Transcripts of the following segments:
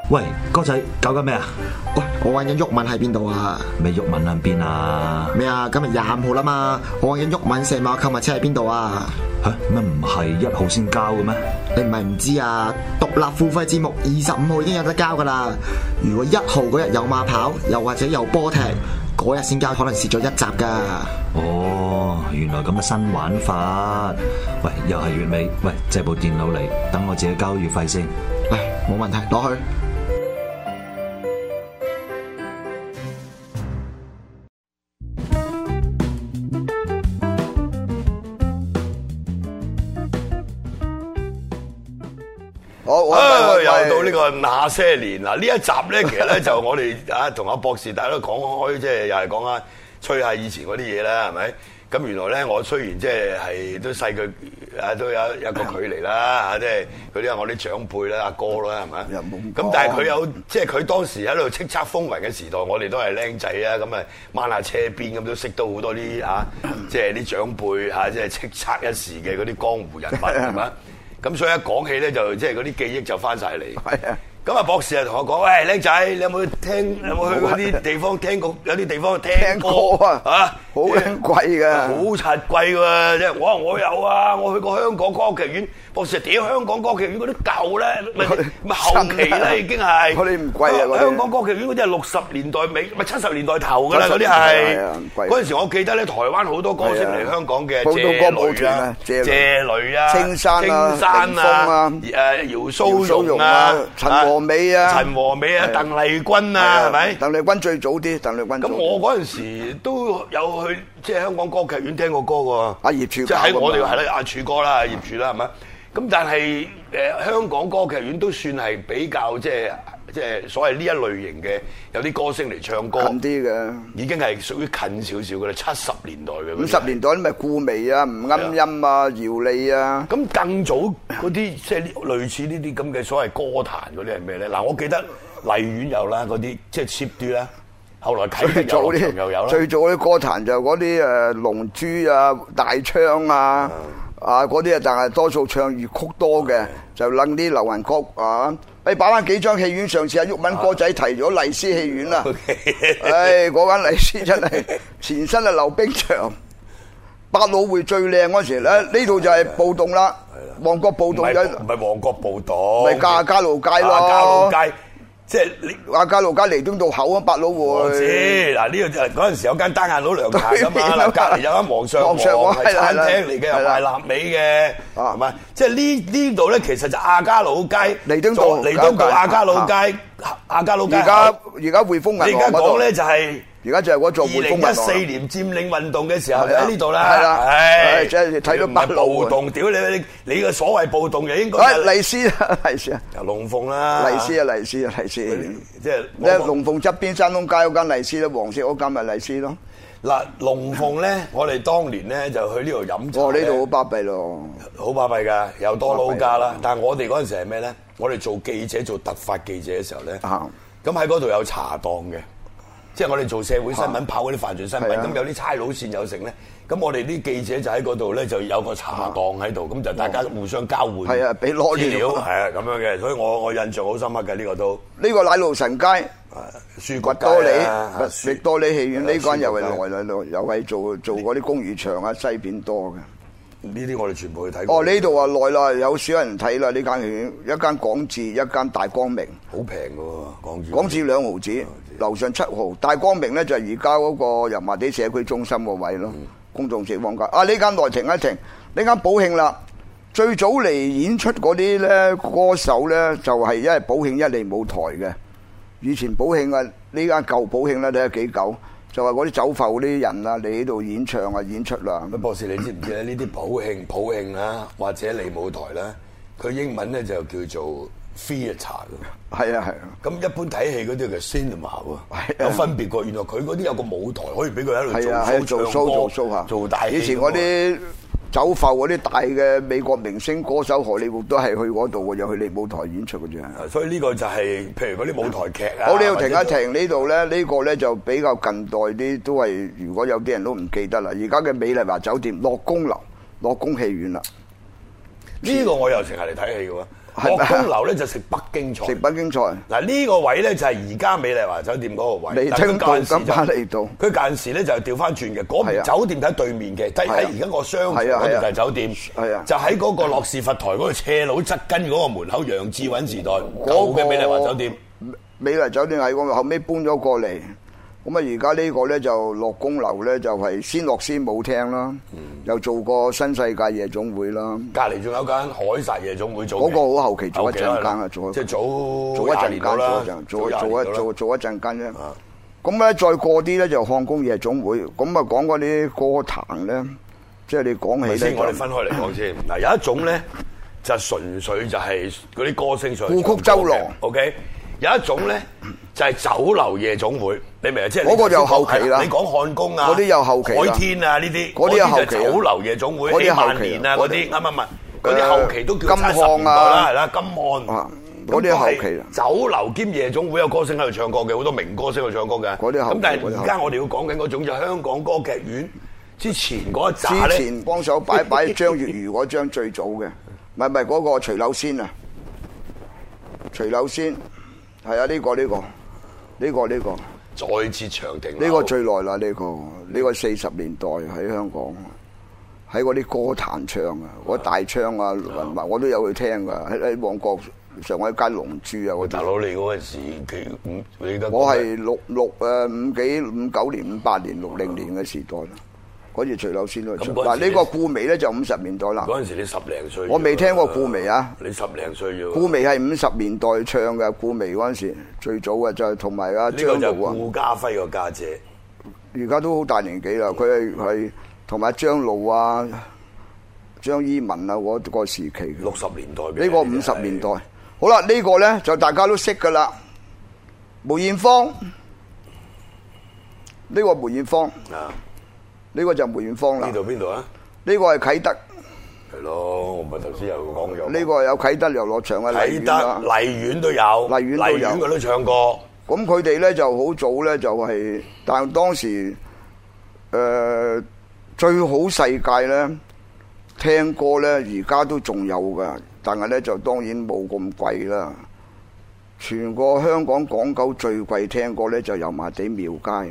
喂，哥仔，搞緊咩啊？ 喂，我揾緊毓民喺邊度啊？ 咩毓民喺邊啊？ 咩啊？今日25號啦嘛，我揾緊毓民石馬購物車喺邊度啊？ 吓，乜唔係1號先交嘅咩？ 你唔係唔知啊？獨立付費節目25號已經有得交噶啦。如果1號嗰日有馬跑，又或者有波踢，嗰日先交，可能蝕咗1集噶。 哦，原來咁嘅新玩法。喂，又係月尾，喂，借部電腦嚟，等我自己交月費先。 嚟，冇問題，攞去。 又到呢個那些年嗱，呢一集咧，其實咧就我哋同阿博士大家都講開，即係又係講下吹下以前嗰啲嘢啦，係咪？咁原來咧，我雖然即係都細佢都有一個距離啦嚇，即係嗰啲係我啲長輩啦、阿哥啦，係咪？咁但係佢有即係佢當時喺度叱咤風雲嘅時代，我哋都係僆仔啊，咁啊掹下車邊咁都識到好多啲即係啲長輩嚇，即係叱咤一時嘅嗰啲江湖人物係咪？咁所以一講起咧，就即係嗰啲記憶就翻晒嚟。係啊。咁啊，博士啊同我講：喂，僆仔，你有冇去嗰啲地方聽過？有啲地方聽歌啊？嚇， 好貴㗎， 好柒貴喎！即係我有啊，我去過香港歌劇院。博士屌香港歌劇院嗰啲舊咧，咪後期啦已經係。 嗰啲唔貴啊！ 香港歌劇院嗰啲係60年代尾，咪70年代頭㗎啦，嗰啲係。嗰陣時我記得咧，台灣好多歌星嚟香港嘅，謝雷啊，青山啊，姚蘇蓉啊， 陳和美啊， 鄧麗君啊，係咪？ 鄧麗君最早啲，鄧麗君。 咁我嗰陣時都有去即係香港歌劇院聽過歌喎。 阿葉柱， 即係喺我哋係啦，阿柱哥啦，葉柱啦，係咪？咁但係香港歌劇院都算係比較即係所謂呢一類型嘅有啲歌星嚟唱歌近啲嘅，已經係屬於近少少嘅啦，70年代嘅。 50年代咪顧媚啊、吳鶯音啊、姚莉啊。 咁更早嗰啲即係類似呢啲咁嘅所謂歌壇嗰啲係咩咧？嗱，我記得荔園有啦，嗰啲即係 cheap 啲啦。後來啟德遊樂場又有啦。 最早啲歌壇就嗰啲龍珠啊、大槍啊。嗰啲但係多數唱粵曲多嘅，就撚啲流行曲啊！擺翻幾張戲院，上次阿毓民哥仔提咗麗斯戲院啦。嗰間麗斯真係前身係溜冰場，百老匯最靚嗰時咧，呢度就係暴動啦，旺角暴動唔係旺角暴動， 咪加路街咯， 加路街。即係你話加路街彌敦道口啊，百老匯。我知嗱，呢個就嗰陣時有間單眼佬涼茶㗎嘛，隔離有間皇上皇係餐廳嚟嘅，又賣臘味嘅，係咪？即係呢度咧，其實就亞皆老街、 彌敦道、 亞皆老街、亞皆老街。 而家匯豐銀行你而家講咧就係。 而家就係嗰座匯豐銀行。 2014年佔領運動嘅時候就喺呢度啦。 係啦，即係睇到暴動，屌你個所謂暴動就應該麗斯啊， 龍鳳啦， 麗斯，即係龍鳳側邊山東街嗰間麗斯啦，黃色嗰間咪麗斯咯。 嗱，龍鳳咧，我哋當年咧就去呢度飲茶。 呢度好巴閉咯， 好巴閉㗎，又多撈家啦。但係我哋嗰陣時係咩咧？我哋做記者做突發記者嘅時候咧，咁喺嗰度有茶檔嘅。即係我哋做社會新聞跑嗰啲犯罪新聞，咁有啲差佬線有成咧，咁我哋啲記者就喺嗰度咧就有個茶檔喺度，咁就大家互相交換俾攞資料，係咁樣嘅，所以我印象好深刻嘅呢個都。 呢個奶路臣街、 書角域多利戲院呢間又係來又係做嗰啲公餘場啊，西片多嘅。 呢啲我哋全部去睇過。 呢度啊耐啦，有少人睇啦呢間戲院，一間廣智，一間大光明， 好平嘅喎， 廣智2毫子。樓上7號，大光明咧就係而家嗰個油麻地社區中心個位咯，公眾食坊街。呢間內停一停，呢間寶慶啦，最早嚟演出嗰啲咧歌手咧就係一係寶慶一嚟舞台嘅。以前寶慶啊，呢間舊寶慶咧睇下幾舊，就係嗰啲走埠嗰啲人啊嚟呢度演唱啊演出啦。 博士你知唔知咧？呢啲普慶啦，或者嚟舞台啦，佢英文咧就叫做theatre 㗎， 係啊。咁一般睇戲嗰啲叫 cinema 喎，有分別過。原來佢嗰啲有個舞台可以俾佢喺度做 show 下，做大戲。 以前嗰啲走埠嗰啲大嘅美國明星歌手荷里活都係去嗰度嘅，又去嚟舞台演出嘅啫。 所以呢個就係譬如嗰啲舞台劇啊。 好，呢度停一停，呢度咧呢個咧就比較近代啲，都係如果有啲人都唔記得啦。而家嘅美麗華酒店樂宮樓、樂宮戲院啦。 呢個我又成日嚟睇戲嘅喎。 樂工樓咧就食北京菜。 食北京菜。 嗱呢個位咧就係而家美麗華酒店嗰個位。 利清道金巴利道。 佢間時咧就調翻轉嘅，嗰邊酒店喺對面嘅，即係喺而家個商場嗰度就係酒店。係啊，就喺嗰個諾士佛台嗰個斜路側跟嗰個門口，楊志韻時代舊嘅美麗華酒店。 美麗酒店喺嗰度，後尾搬咗過嚟。咁啊，而家呢個咧就樂工樓咧就係先樂先舞廳啦，又做過新世界夜總會啦。 隔離仲有間凱撒夜總會做。 嗰個好後期做一陣間啊，做即係做一陣間做一陣間啫。咁咧再過啲咧就漢宮夜總會。咁啊講嗰啲歌壇咧，即係你講起咧， 我哋分開嚟講先。嗱有一種咧就純粹就係嗰啲歌星上故曲周郎。 OK。有一種咧就係酒樓夜總會，你明啊？即係嗰個就後期啦。 你講漢宮啊， 嗰啲又後期啦。 海天啊呢啲， 嗰啲後期。 酒樓夜總會， 嗰啲後期啊嗰啲啱唔啱？嗰啲後期都叫金漢啊， 係啦，金漢。 嗰啲後期。 酒樓兼夜總會有歌星喺度唱歌嘅，好多名歌星喺度唱歌嘅。 嗰啲後期。 咁但係而家我哋要講緊嗰種就香港歌劇院之前嗰一紮咧。 之前幫手擺張月如嗰張最早嘅，唔係嗰個徐柳仙啊，徐柳仙。係啊，呢個再設長亭， 呢個最耐啦，呢個40年代喺香港，喺嗰啲歌壇唱啊，嗰大唱啊，我都有去聽噶，喺旺角上海街龍珠啊， 大佬你嗰陣時我係59年、58年、60年嘅時代啦。嗰時徐柳仙都唱，嗱呢個顧媚咧就50年代啦。 嗰陣時你10零歲， 我未聽過顧媚啊。 你10零歲啫。 顧媚係50年代唱嘅，顧媚嗰陣時最早嘅就係同埋阿張露啊。 顧嘉輝個家姐， 而家都好大年紀啦。佢係同埋張露啊、張依文啊嗰個時期嘅。 60年代。 呢個50年代。好啦，呢個咧就大家都識噶啦。梅艷芳，呢個梅艷芳。啊。呢個就梅艷芳啦。 邊度啊？ 呢個係啟德。 係咯，我咪頭先又講咗。 呢個有啟德遊樂場啊， 啟德、荔園都有，荔園佢都唱過。 咁佢哋咧就好早咧就係，但係當時最好世界咧聽歌咧，而家都仲有噶，但係咧就當然冇咁貴啦。全個香港港九最貴聽歌咧就油麻地廟街。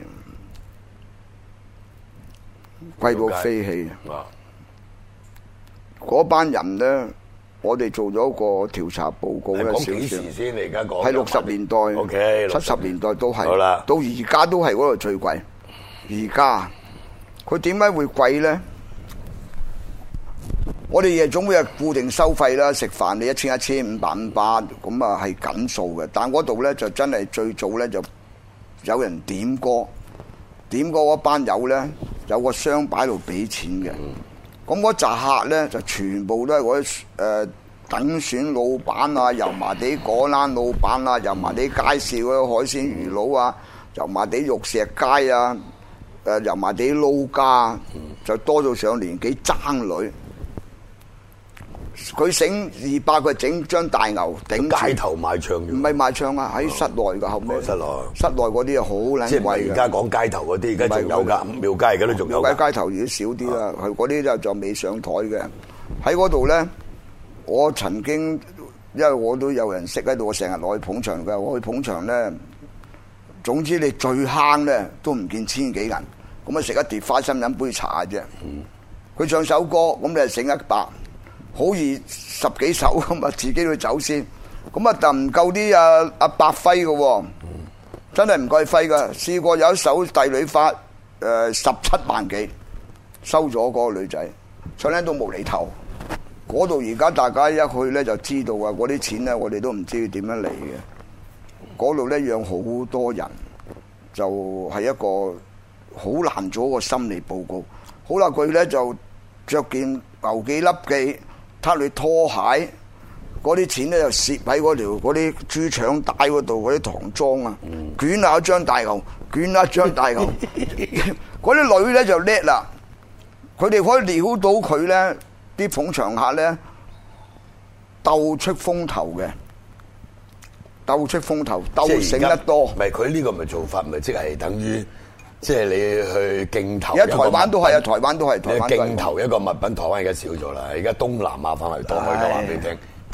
貴到飛起啊！嗰班人咧，我哋做咗個調查報告咧， 講幾時先？你而家講係60年代 ，OK， 70年代都係， 好啦， 到而家都係嗰度最貴。而家佢點解會貴咧？我哋夜總會係固定收費啦，食飯你1000、1500、500咁啊係緊數嘅。但嗰度咧就真係最早咧就有人點歌。點歌嗰班友咧，有個箱擺喺度俾錢嘅。咁嗰紮客咧就全部都係嗰啲等選老闆啊、油麻地果欄老闆啊、油麻地街市嗰啲海鮮魚佬啊、油麻地玉石街啊、油麻地撈家，就多到上年紀爭女。佢醒200，佢整張大牛頂街頭賣唱， 唔係賣唱啊，喺室內噶後尾。室內嗰啲啊好撚貴嘅。 即係而家講街頭嗰啲，而家仲有㗎，廟街而家都仲有。 廟街街頭已經少啲啦，佢嗰啲就未上台嘅。喺嗰度咧，我曾經因為我都有人識喺度，我成日落去捧場㗎。我去捧場咧，總之你最慳咧都唔見千幾銀，咁啊食一碟花生飲杯茶啫。佢唱首歌，咁你係醒100。好易10幾首咁啊，自己去走先，咁啊但唔夠啲阿伯輝嘅喎，真係唔夠輝噶。試過有一首《帝女花》17萬幾，收咗嗰個女仔，唱靚到無厘頭。嗰度而家大家一去咧就知道啊，嗰啲錢咧我哋都唔知點樣嚟嘅。嗰度咧養好多人，就係一個好難做一個心理報告。好啦，佢咧就着件牛記笠記。攤你拖鞋，嗰啲錢咧就攝喺嗰啲豬腸帶嗰度，嗰啲唐裝啊，捲下一張大牛，捲下一張大牛。嗰啲女咧就叻啦，佢哋可以撩到佢咧，啲捧場客咧鬥出風頭嘅，鬥出風頭，鬥醒得多。 唔係佢呢個咪做法，咪即係等於。即係你去競投， 而家台灣都係啊，台灣都係。 你競投一個物品，台灣而家少咗啦。而家東南亞反而多，我就話俾你聽。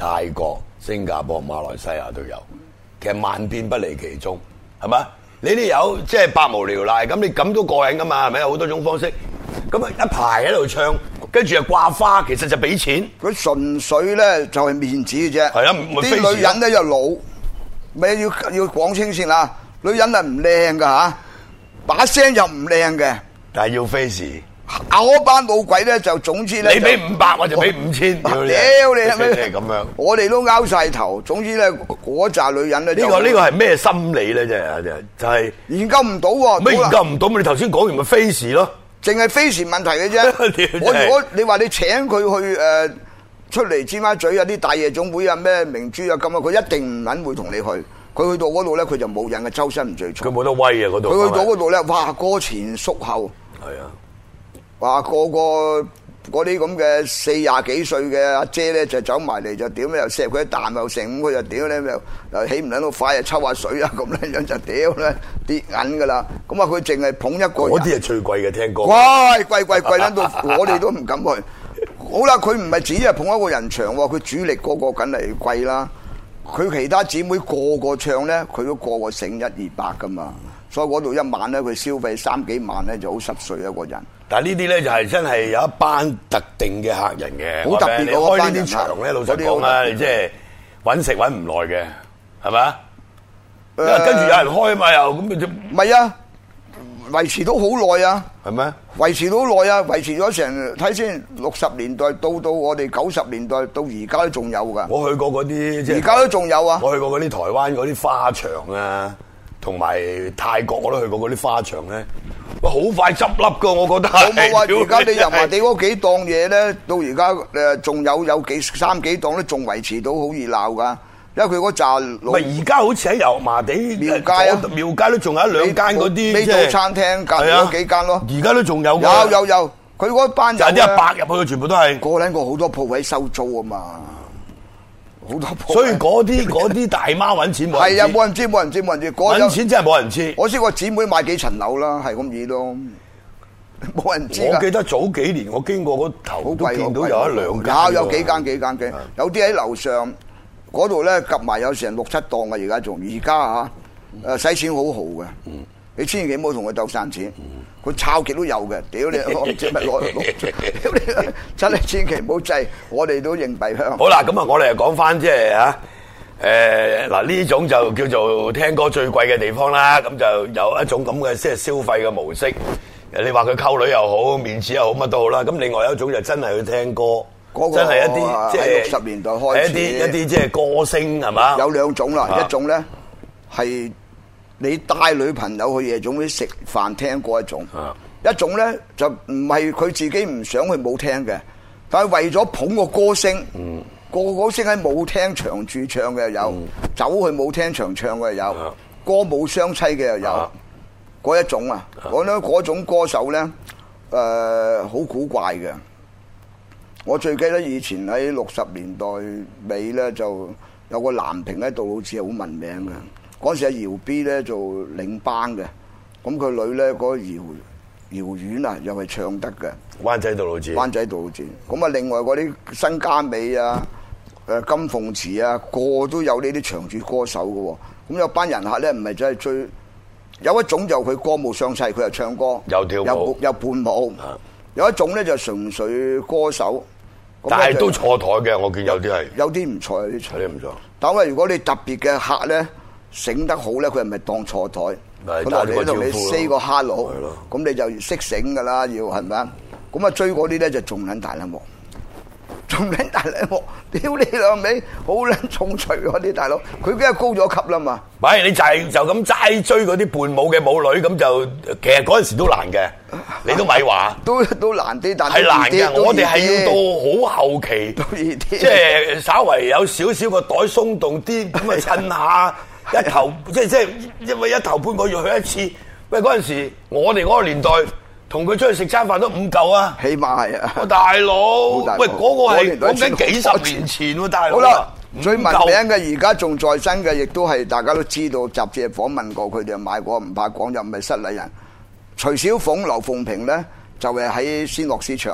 泰國、新加坡、馬來西亞都有，其實萬變不離其宗，係嘛？你哋有即係百無聊賴，咁你咁都過癮噶嘛？係咪有好多種方式？咁啊一排喺度唱，跟住又掛花，其實就俾錢。 佢純粹咧就係面子嘅啫。 係啊， 啲女人咧又老，咪要講清先啦。女人係唔靚噶嚇，把聲又唔靚嘅， 但係要 face。 嗰班老鬼咧就總之咧， 你俾500我就俾5000，屌你係咩？ 咁樣， 我哋都拗晒頭。總之咧，嗰扎女人咧， 呢個係咩心理咧？就係研究唔到喎。 咩研究唔到？你頭先講完咪 face 咯， 淨係 face 問題嘅啫。我如果你話你請佢去出嚟尖沙咀有啲大夜總會啊咩明珠啊咁啊，佢一定唔撚會同你去。佢去到嗰度咧，佢就冇癮嘅，周身唔聚財。 佢冇得威啊！嗰度佢去到嗰度咧，哇，歌前縮後。 係啊。 話個嗰啲咁嘅40幾歲嘅阿姐咧，就走埋嚟就屌咧，又錫佢一啖又成，佢就屌咧又起唔撚到快啊，抽下水啊咁樣樣就屌咧跌銀噶啦。咁啊佢淨係捧一個人， 嗰啲係最貴嘅聽歌， 貴撚到我哋都唔敢去。好啦，佢唔係只係捧一個人場喎，佢主力個梗係貴啦。佢其他姊妹個唱咧，佢都個醒100-200噶嘛。所以嗰度一晚咧，佢消費3幾萬咧就好濕碎一個人。 但係呢啲咧就係真係有一班特定嘅客人嘅，好特別。你開呢啲場咧，老實講啊，你即係揾食揾唔耐嘅，係咪啊？跟住有人開啊嘛，又咁就唔係啊，維持到好耐啊， 係咩？ 維持到好耐啊，維持咗成睇先60年代到我哋90年代到而家都仲有㗎。 我去過嗰啲即係而家都仲有啊！ 我去過嗰啲台灣嗰啲花場啊。同埋泰國我都去過嗰啲花場咧，哇好快執笠噶，我覺得。 我冇話而家你油麻地嗰幾檔嘢咧，到而家仲有3幾檔都仲維持到好熱鬧噶，因為佢嗰扎老。 咪而家好似喺油麻地廟街啊，廟街都仲有1-2間嗰啲呢度餐廳隔離嗰幾間咯。 而家都仲有。 有，佢嗰班就係啲阿伯入去，全部都係個撚個好多鋪位收租啊嘛。好多， 所以嗰啲大媽揾錢冇人知。 係啊，冇人知。揾錢真係冇人知。 我識個姊妹買幾層樓啦，係咁易咯，冇人知。 我記得早幾年我經過嗰頭都見到有1-2間。 有幾間，有啲喺樓上嗰度咧，夾埋有成6-7檔嘅。而家使錢好豪嘅。你千祈唔好同佢鬥散錢，佢抄極都有嘅。屌你，我唔知乜攞，屌你，真係千祈唔好制，我哋都認幣香。 好啦，咁啊，我哋又講翻即係嗱呢種就叫做聽歌最貴嘅地方啦。咁就有一種咁嘅即係消費嘅模式。你話佢溝女又好，面子又好，乜都好啦。咁另外有一種就真係去聽歌，真係一啲即係 60年代開始一啲即係歌星係嘛？ 有2種啦，一種咧係。你帶女朋友去夜總會食飯聽過一種，一種咧就唔係佢自己唔想去舞廳嘅，但係為咗捧個歌星，個歌星喺舞廳長駐唱嘅又有，走去舞廳長唱嘅又有，歌舞雙棲嘅又有，嗰一種啊，嗰種歌手咧，好古怪嘅。我最記得以前喺60年代尾咧，就有個藍屏喺度，好似好聞名嘅。嗰時阿姚 B 咧做領班嘅，咁佢女咧嗰個姚婉啊，又係唱得嘅。灣仔杜老誌。咁啊，另外嗰啲新嘉美啊、金鳳慈啊，個都有呢啲長駐歌手嘅喎。咁有班人客咧，唔係真係追。有一種就佢歌舞雙棲，佢又唱歌， 又跳舞， 又伴舞。有一種咧就純粹歌手。 但係都錯台嘅，我見有啲係。 有啲唔錯，有啲錯。 但係如果你特別嘅客咧，醒得好咧，佢係咪當錯台？佢落嚟同你 say 個 hello，咁你就識醒噶啦，要係咪啊？咁啊追嗰啲咧就仲撚大粒幕，屌你老味，好撚重錘嗰啲大佬，佢梗係高咗級啦嘛。 唔係你就咁齋追嗰啲伴舞嘅舞女，咁就其實嗰陣時都難嘅，你都咪話都難啲，但係難嘅。我哋係要到好後期，即係稍為有少少個袋鬆動啲，咁啊趁下。一頭即係因為一頭半個月去一次，喂嗰陣時我哋嗰個年代同佢出去食餐飯都5嚿啊， 起碼係啊， 大佬，喂嗰個係講緊幾10年前喎，大佬。好啦， 最聞名嘅而家仲在生嘅，亦都係大家都知道，雜誌訪問過佢哋買過，唔怕講又唔係失禮人。徐小鳳、劉鳳萍咧就係喺仙樂絲唱啦，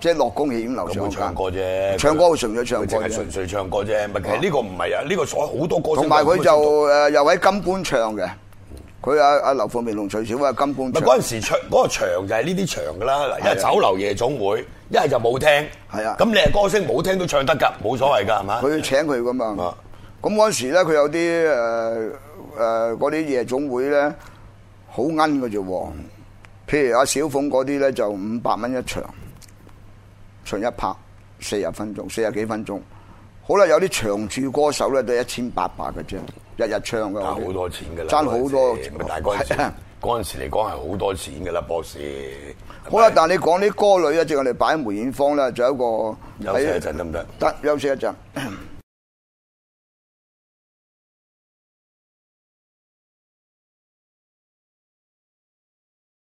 即係樂宮戲院樓有上冇唱歌啫？ 唱歌純粹唱歌啫佢淨係純粹唱歌啫。唔係，其實呢個唔係啊，呢個所好多歌星同埋佢就又喺金冠唱嘅，佢阿劉鳳鳴同徐小鳳喺金冠唱。 嗰陣時唱嗰個場就係呢啲場㗎啦。嗱，一係酒樓夜總會，一係就舞廳。 係啊， 咁你係歌星，舞廳都唱得㗎，冇所謂㗎，係嘛？ 佢請佢㗎嘛。 啊咁嗰陣時咧，佢有啲嗰啲夜總會咧，好奀嘅啫喎。譬如阿小鳳嗰啲咧，就500蚊一場，唱一拍40分鐘，40幾分鐘。好啦，有啲長駐歌手咧都1800嘅啫，日日唱嘅。 爭好多錢㗎啦， 爭好多。 但係嗰陣時嚟講係好多錢㗎啦，博士。 好啦，但係你講啲歌女咧，即係我哋擺喺梅艷芳咧，就有一個休息一陣得唔得？ 得，休息一陣。